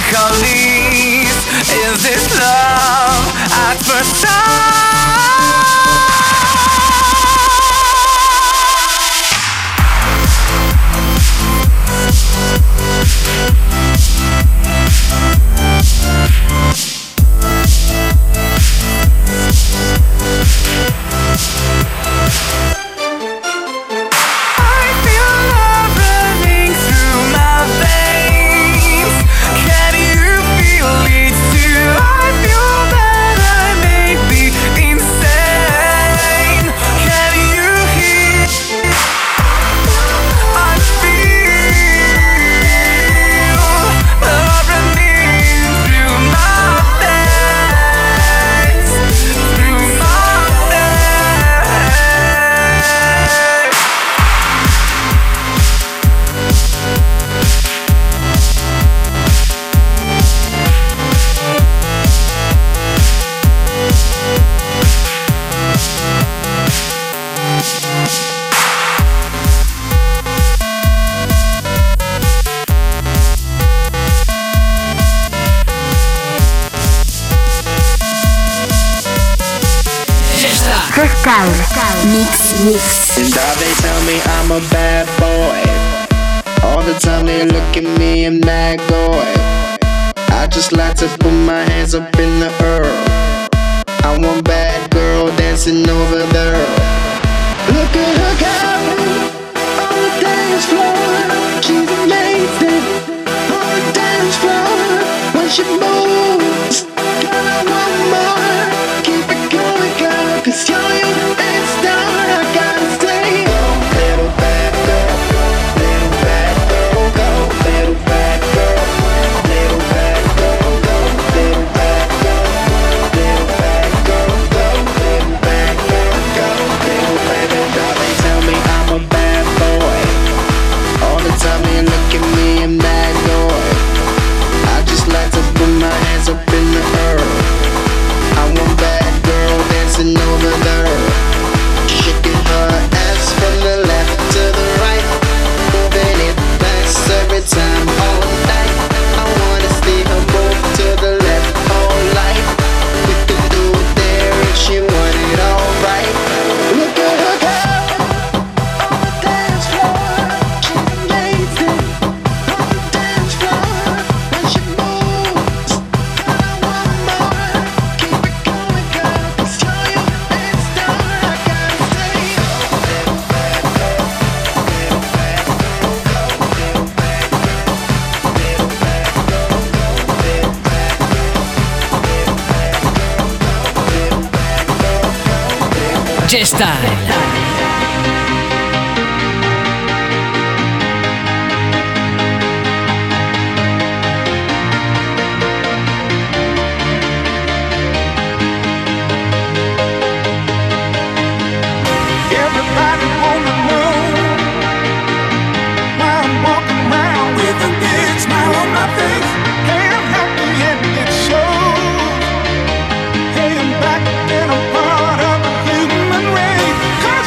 melancholies. Is this love at first sight? Mix. And all they tell me I'm a bad boy. All the time they look at me and mad boy. I just like to put my hands up in the air. I want bad girl dancing over there. Look at her go on the dance floor. She's amazing on the dance floor. When she moves, girl, I want more. Keep it going, girl, 'cause you're Style. Hey, I'm back and I'm part of the human race.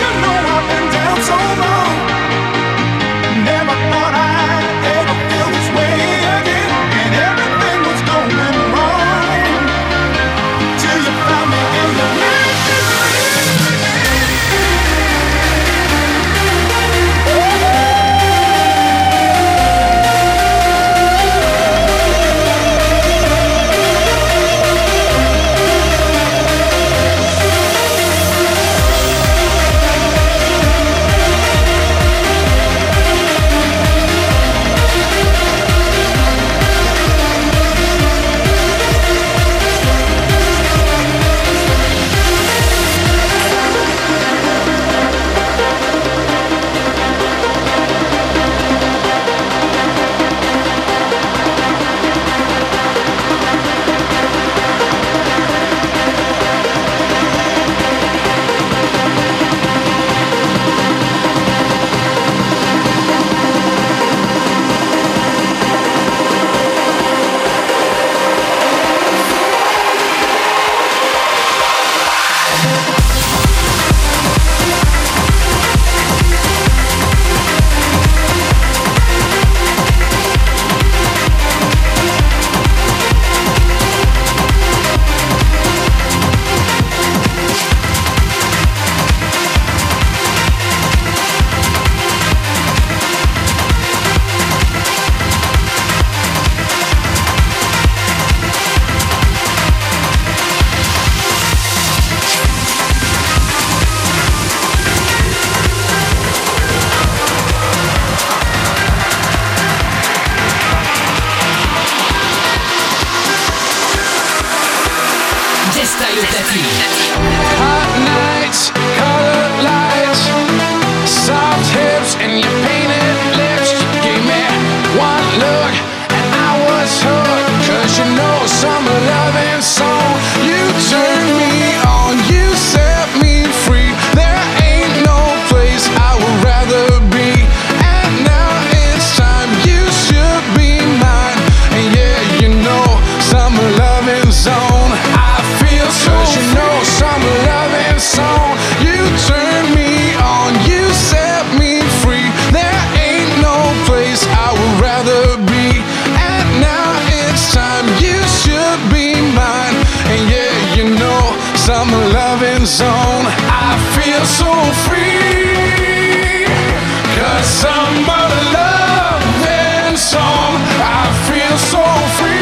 Style platine. Hot nights, colored lights, soft hips and your painted lips. You gave me one look and I was hooked. 'Cause you know summer loving song. You turned me on, you set me free. There ain't no place I would rather be. And now it's time, you should be mine. And yeah, you know summer loving zone. I feel so free. You know summer loving song. You turn me on, you set me free. There ain't no place I would rather be. And now it's time, you should be mine. And yeah, you know summer loving zone. I feel so free. 'Cause summer loving song. I feel so free.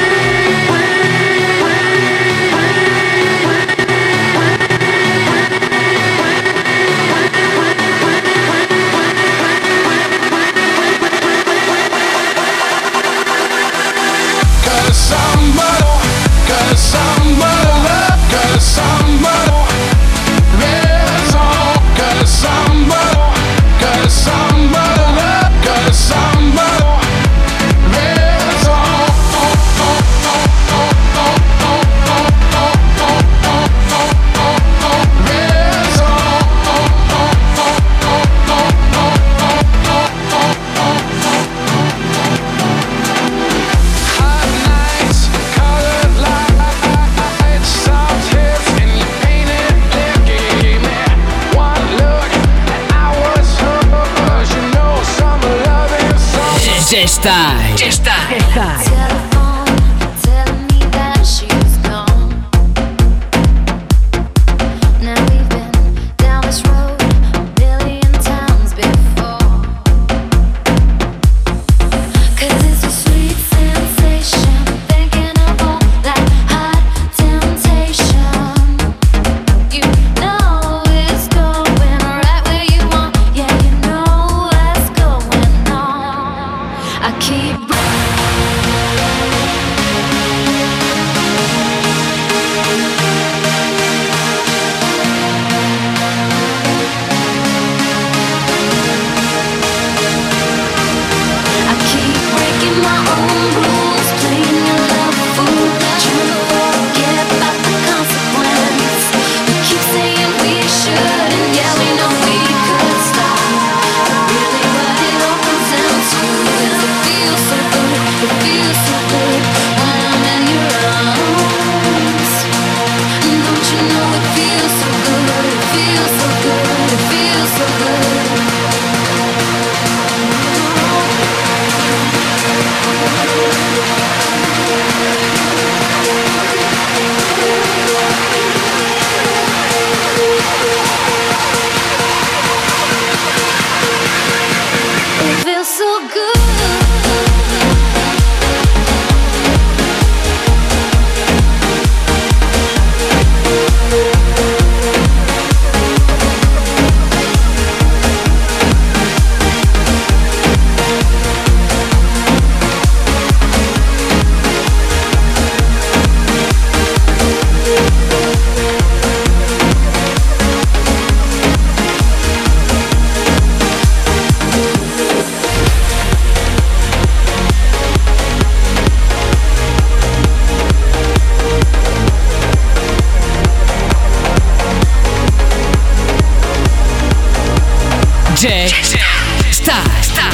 Style. Telephone telling me that she's gone. Now we've been down this road a million times before. 'Cause it's a sweet sensation thinking of all that hot temptation. You know it's going right where you want. Yeah, you know what's going on. I keep breaking my own rules, playing your love fool, trying to forget about the consequence. We keep saying we should, and yeah, we know we could stop. But really what it all comes down to is it feels so good, it feels so good when I'm in your arms. And don't you know it feels so good, it feels so good, it feels so good. It feels so good. Style.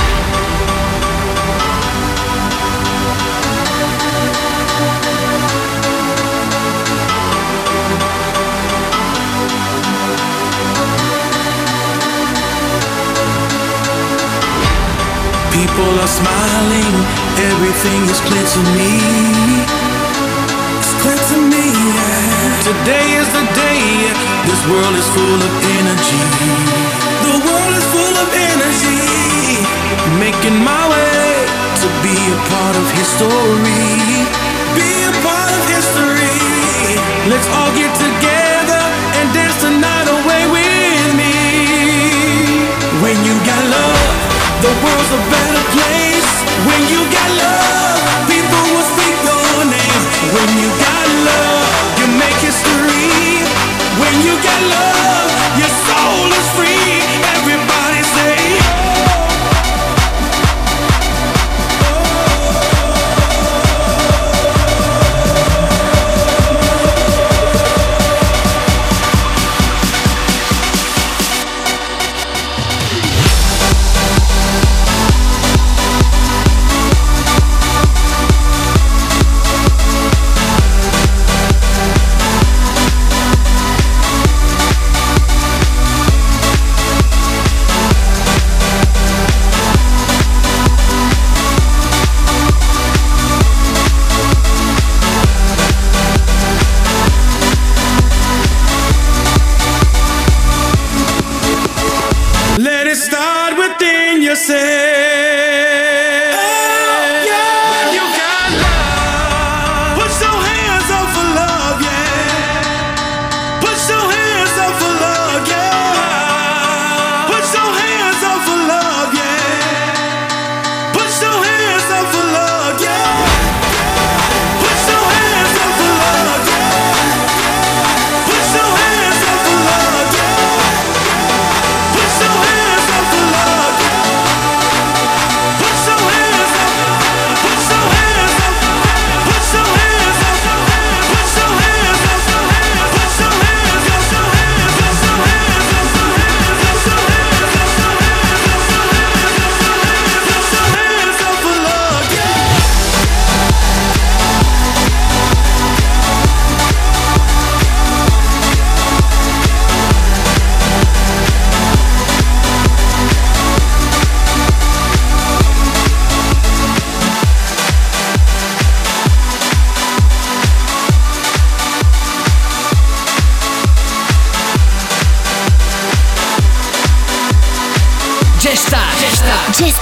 People are smiling, everything is clear to me. It's clear to me, yeah. Today is the day, this world is full of energy. The world is full of energy. Making my way to be a part of history. Be a part of history. Let's all get together and dance the night away with me. When you got love, the world's a better place. When you got love, people will speak your name. When you got love, you make history.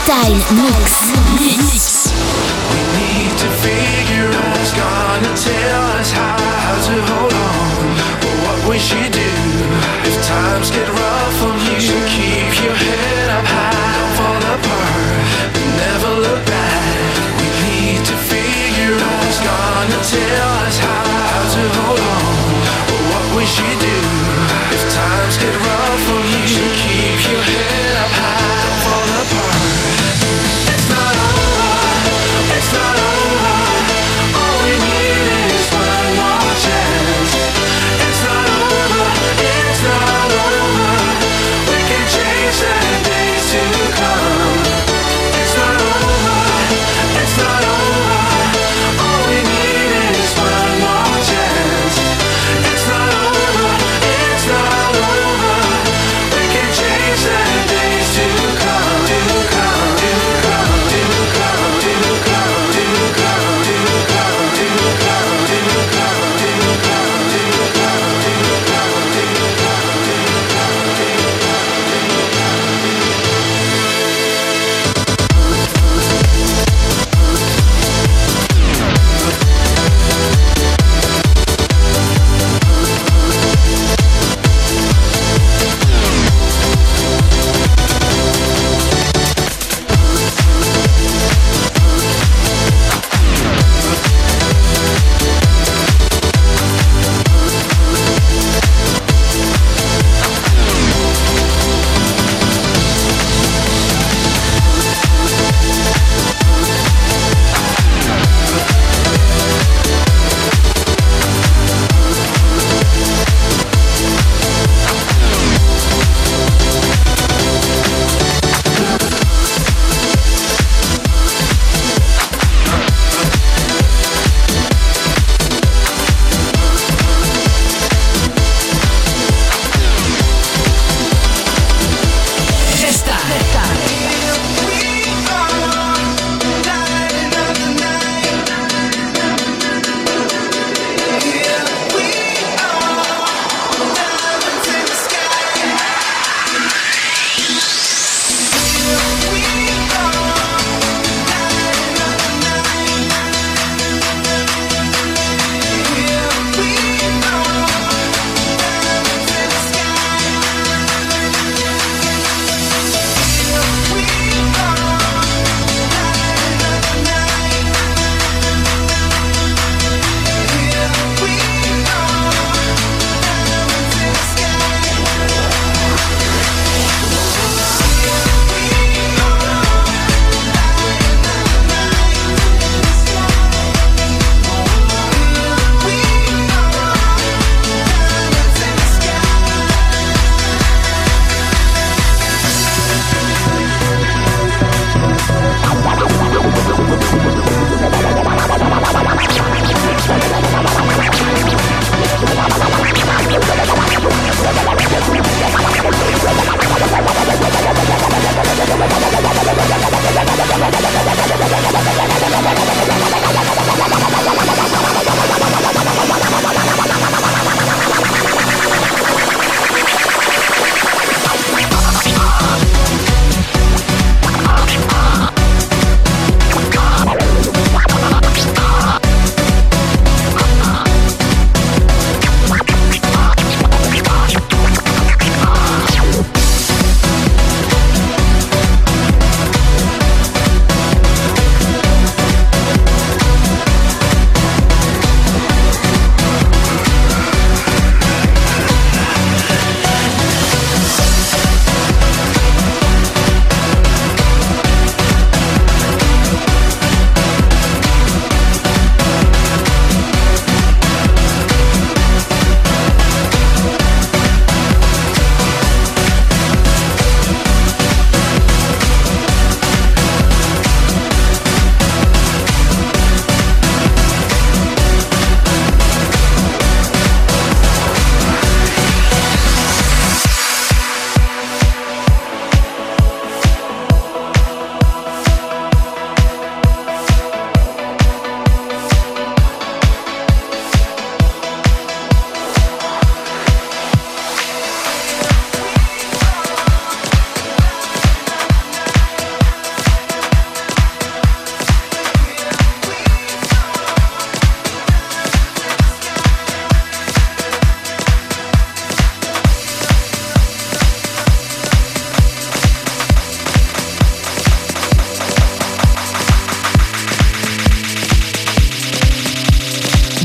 Style Mix. We need to figure out who's gonna tell us how to hold on, or what we should do if times get rough for you. So keep your head up high, don't fall apart, never look back. We need to figure out who's gonna tell us how to hold on, or what we should do if times get rough for you. So keep your head up high, don't fall apart. It's not over.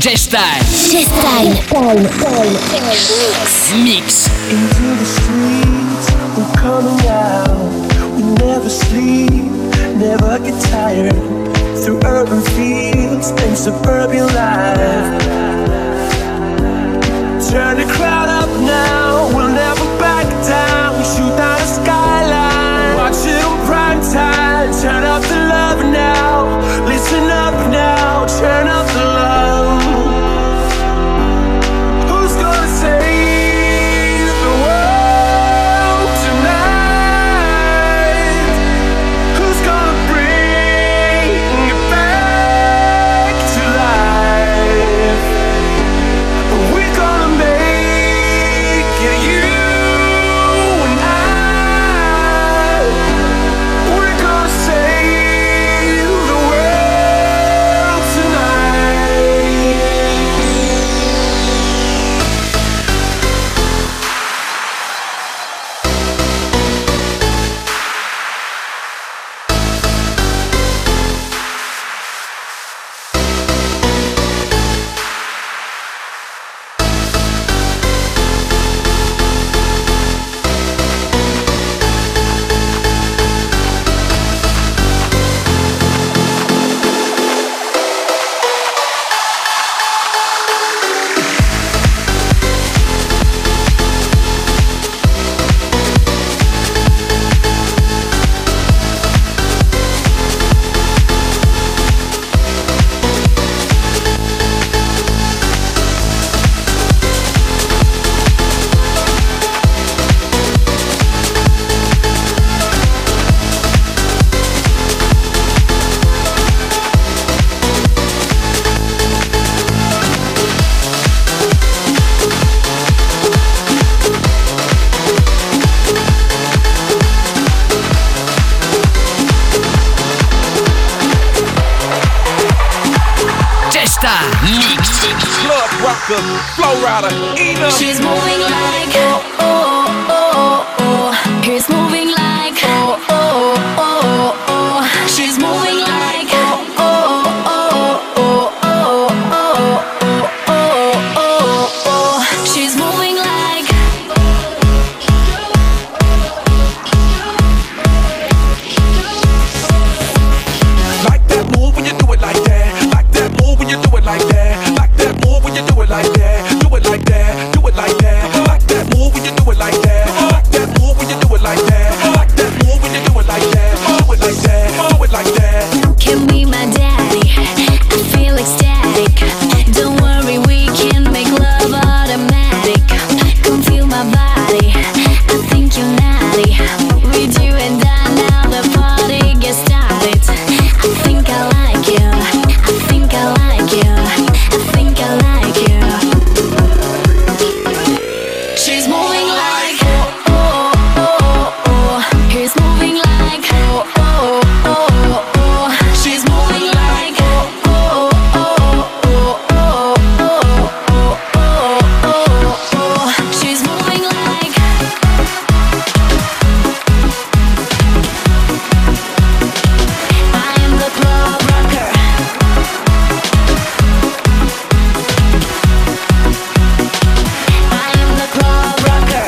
G-Style. G-Style. Mix. Into the streets, we're coming out. We never sleep, never get tired. Through urban fields and suburban life. Turn the crowd up now, we'll never back down. We shoot down the skyline, watch it on prime time. Turn up the love now, listen up now, turn up the love. Who's gonna save the world tonight? Who's gonna bring it back to life? We're gonna make it, you and I. We're gonna save the world tonight. G-Style. Mix. Club rocker, flow rider, Ina. She's moving like he's moving like she's moving like she's moving like That move when you do it like that. Like that move when you do it like that. Like that move when you do it like that. Do it like that. Do it like that. Like that move when you do it like that. Like that move when you do it like that. Like that move when you do it like that. Do it like that. Do it like that. can be my daddy. I feel ecstatic. Don't worry, we can make love automatic. Come feel my body. I think you're naughty. With you and I now the party gets started. I think I like you. I think I like you. I think I like you. She's moving like he's moving like she's moving like she's moving like I am the club rocker. I am the club rocker.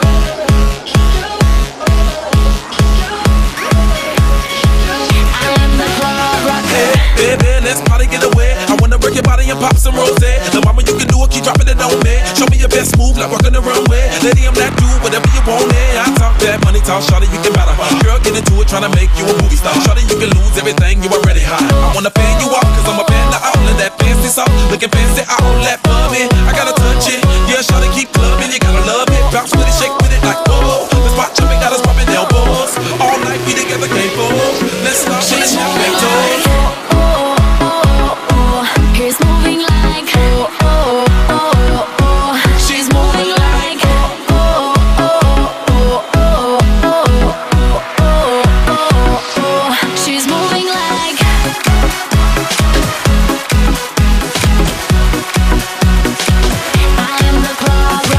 I am the club rocker. Baby, let's party, get away. I wanna break your body and pop some rose. The mama, you can do it, keep dropping it on me. Show me your best move, like walking the runway. Lady, I'm that dude, whatever you want, I talk that money talk, shawty, you can matter. Girl, get into it, tryna make you a movie star. Shawty, you can lose everything, you already high. I wanna fan you off, cause I'm a fan of all of that fancy sauce. Looking fancy, all that bummy. I gotta touch it, yeah, shawty, keep clubbing. You gotta love it, bounce with it, shake with it like whoa. The spot jumping, got us popping elbows. All night, we together, can't fool. Let's start with the champagne toast. He's moving like she's moving like she's moving like I am the club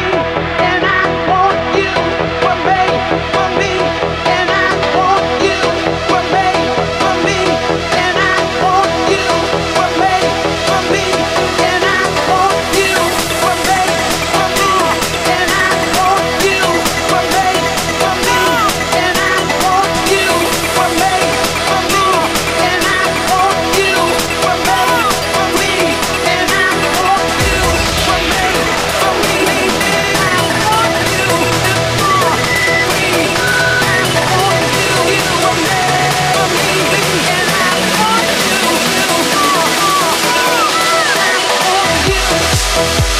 and I want you were made for me.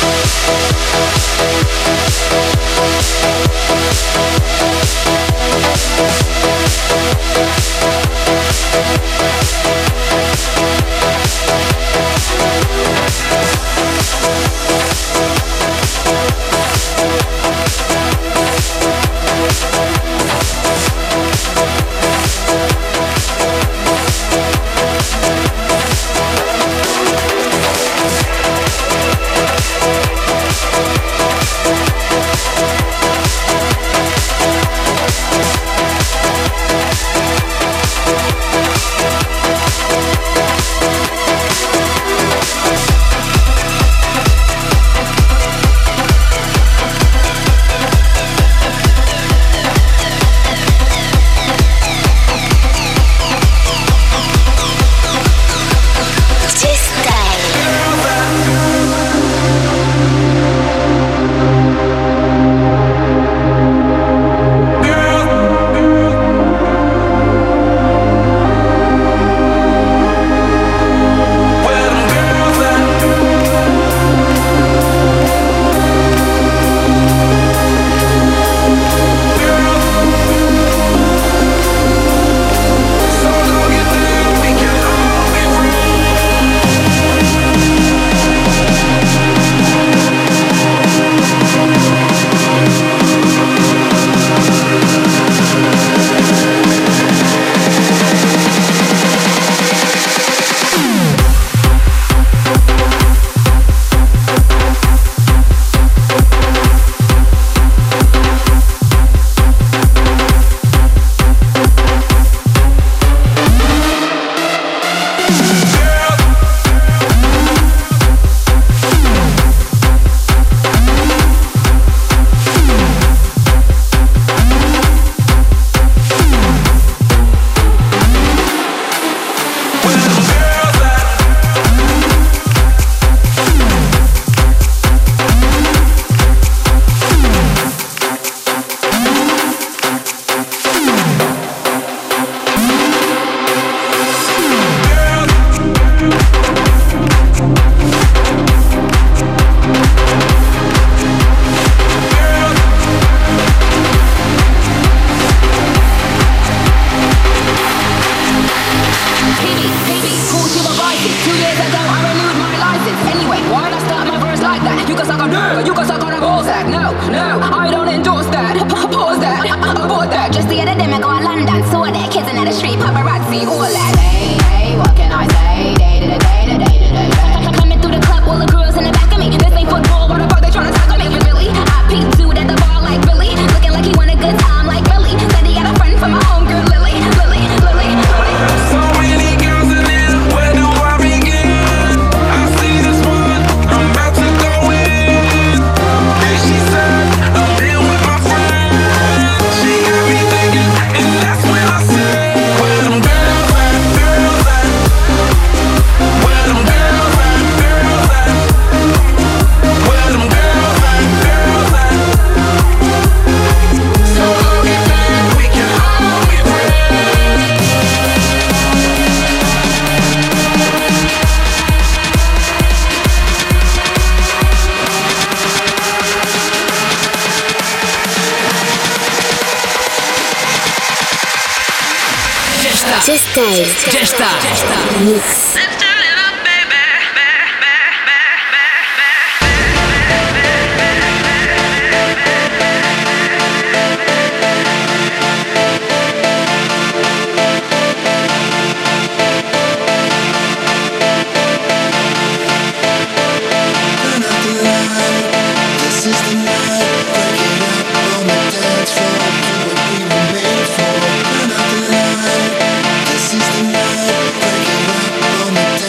Já está. Mix. This is the night, break it up on the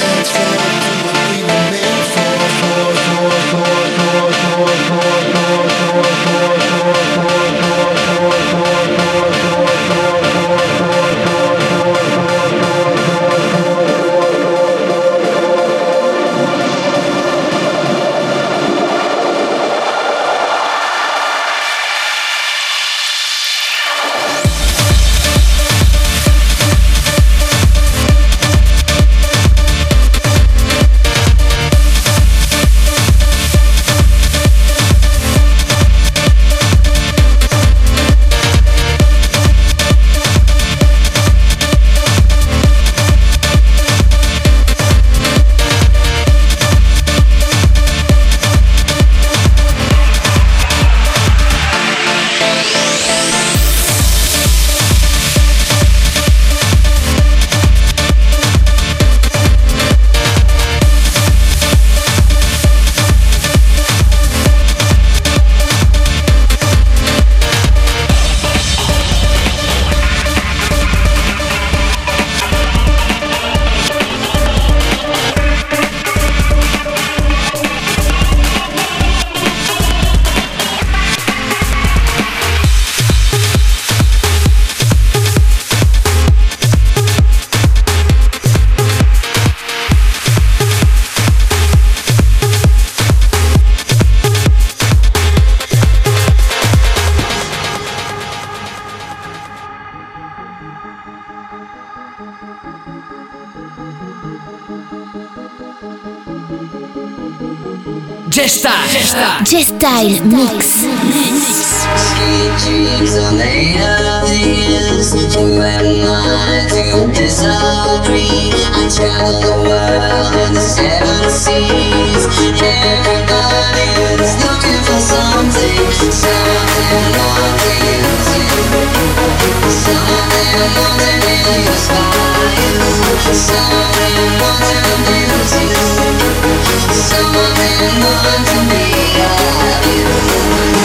J-Style Mix. Sweet dreams are made of these. You and I do disagree. I travel the world in the 7 seas. Everybody's looking for something more than you. Something more than inspire you. Something more than amuse you. Something more to be of you.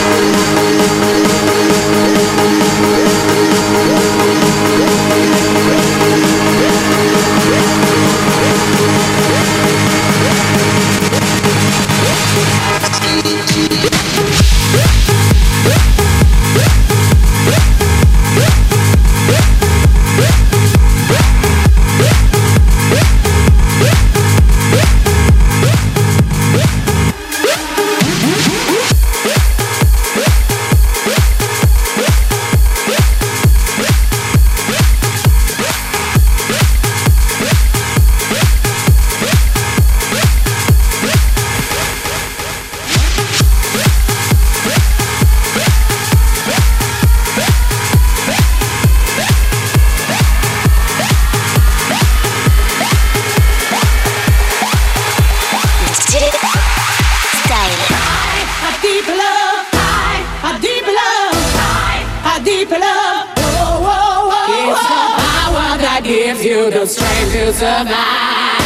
Gives you the strength to survive.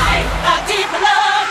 A deep love.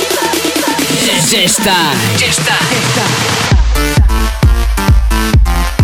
J-Style.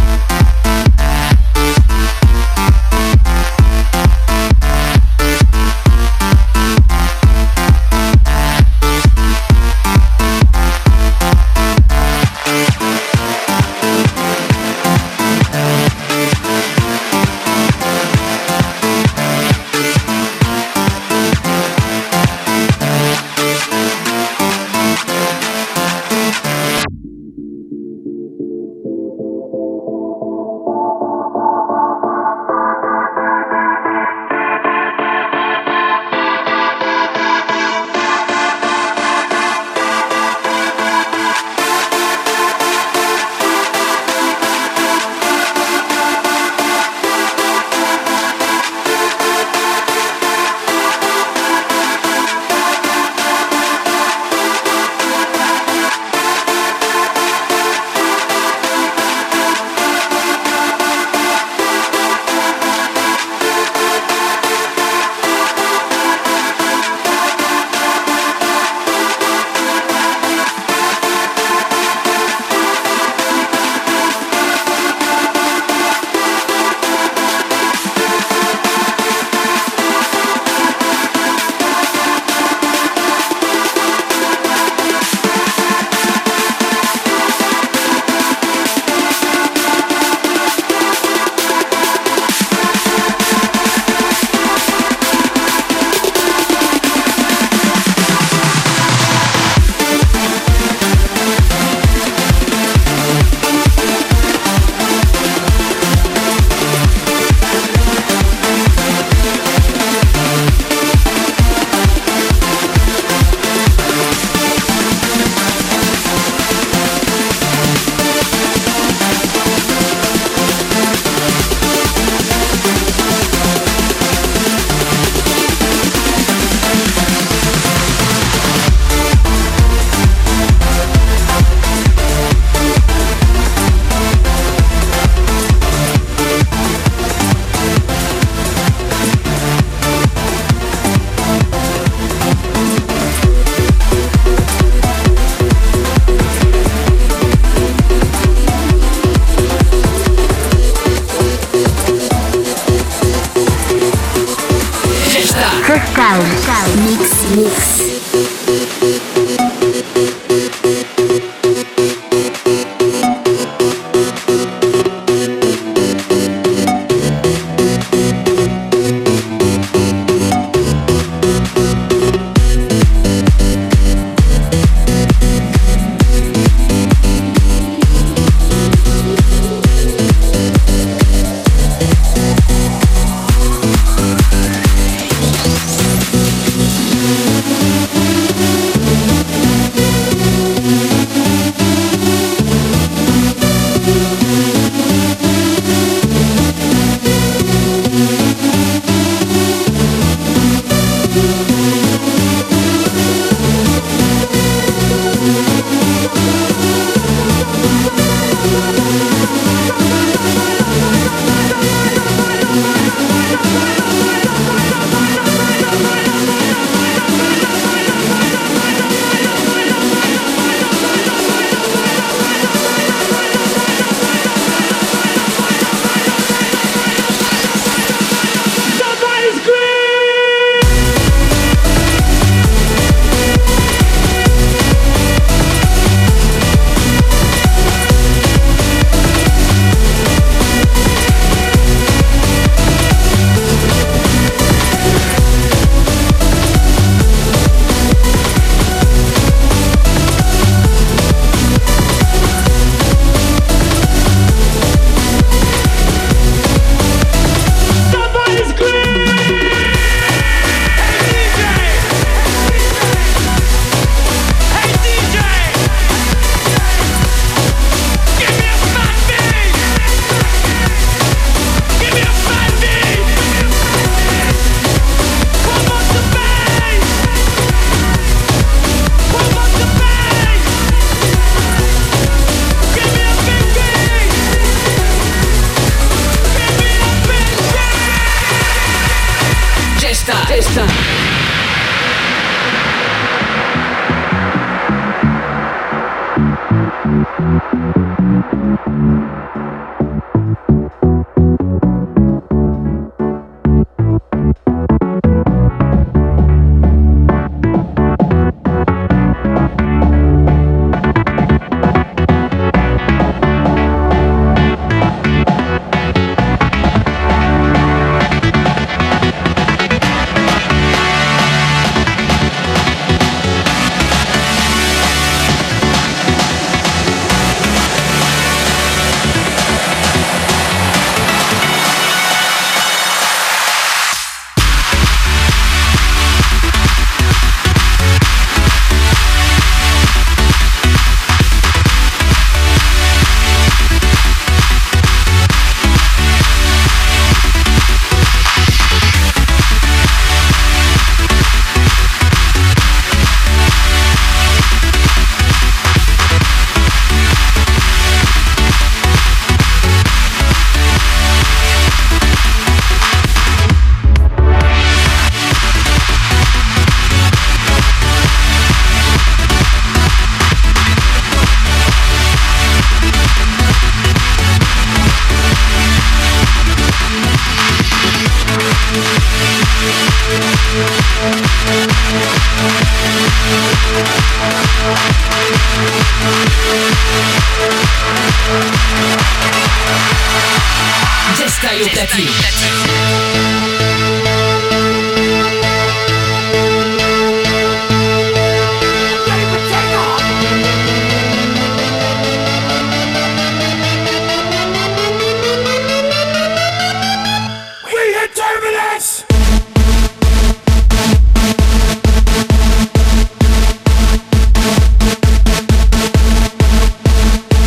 Gesta au platine.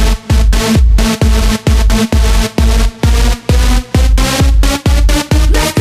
Let's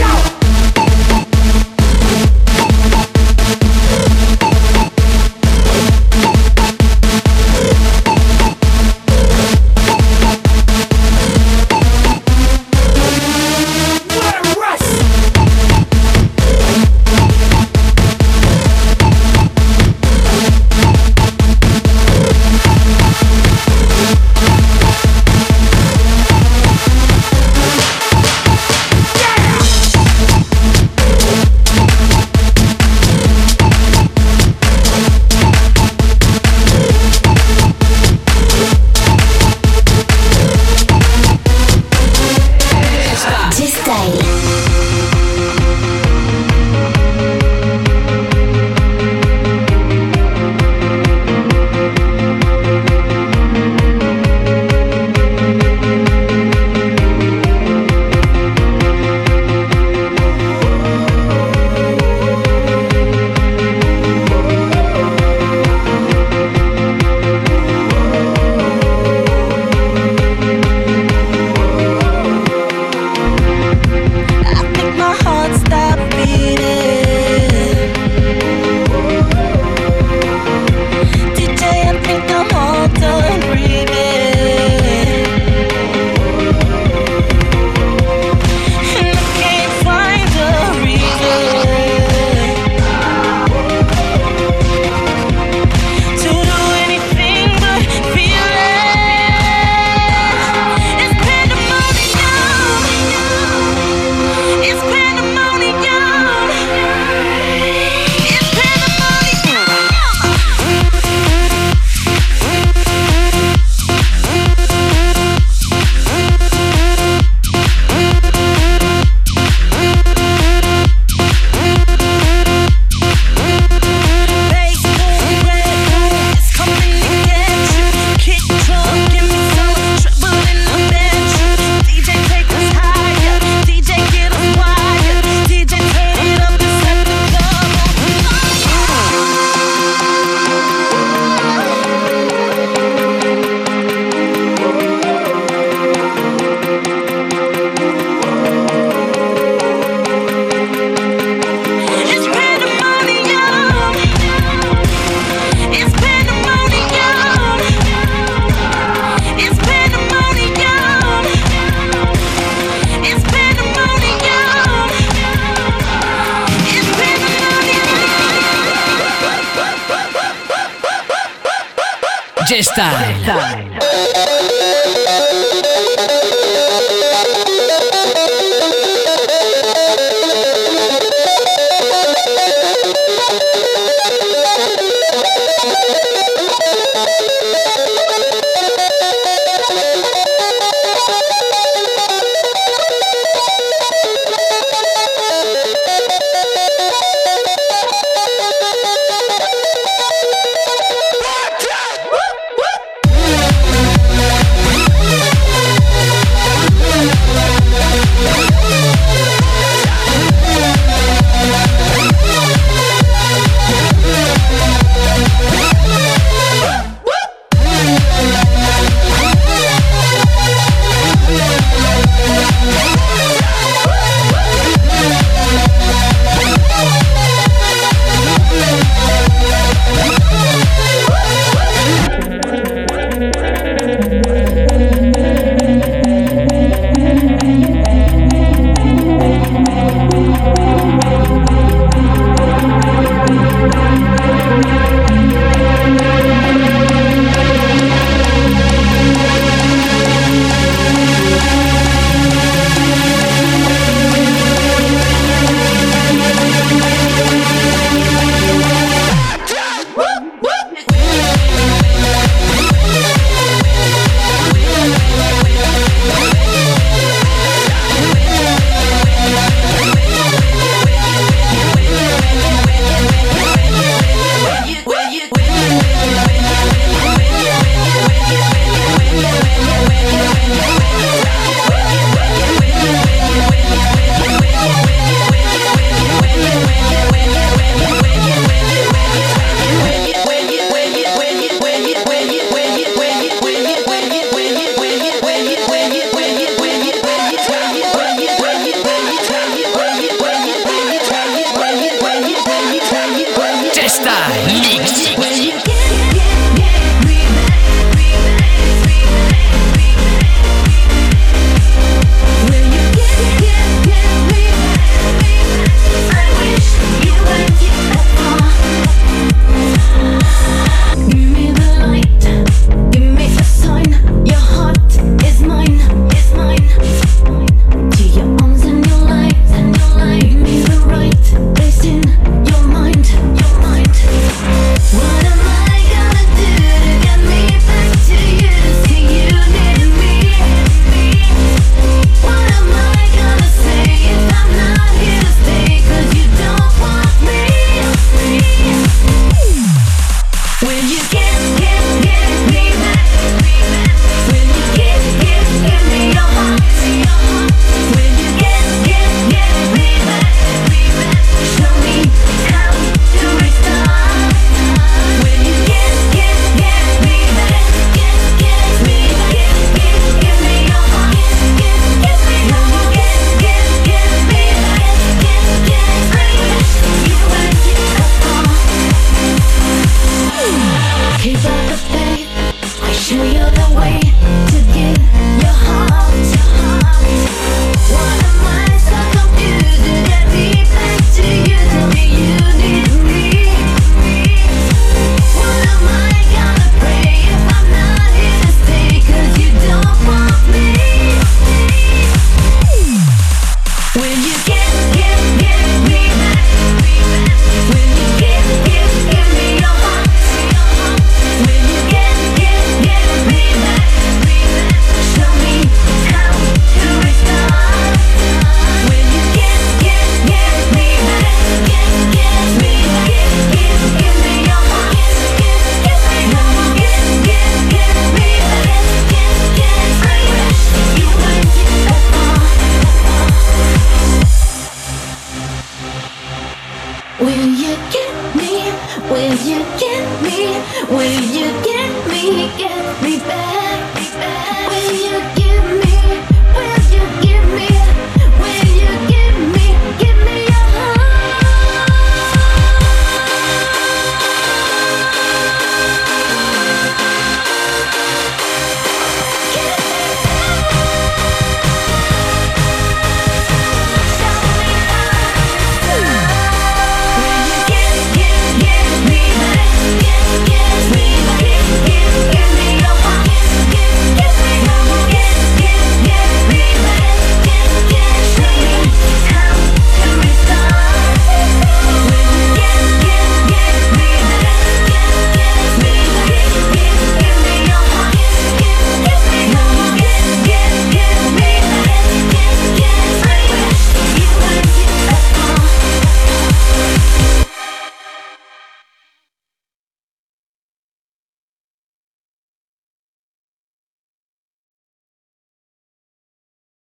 DJ Style.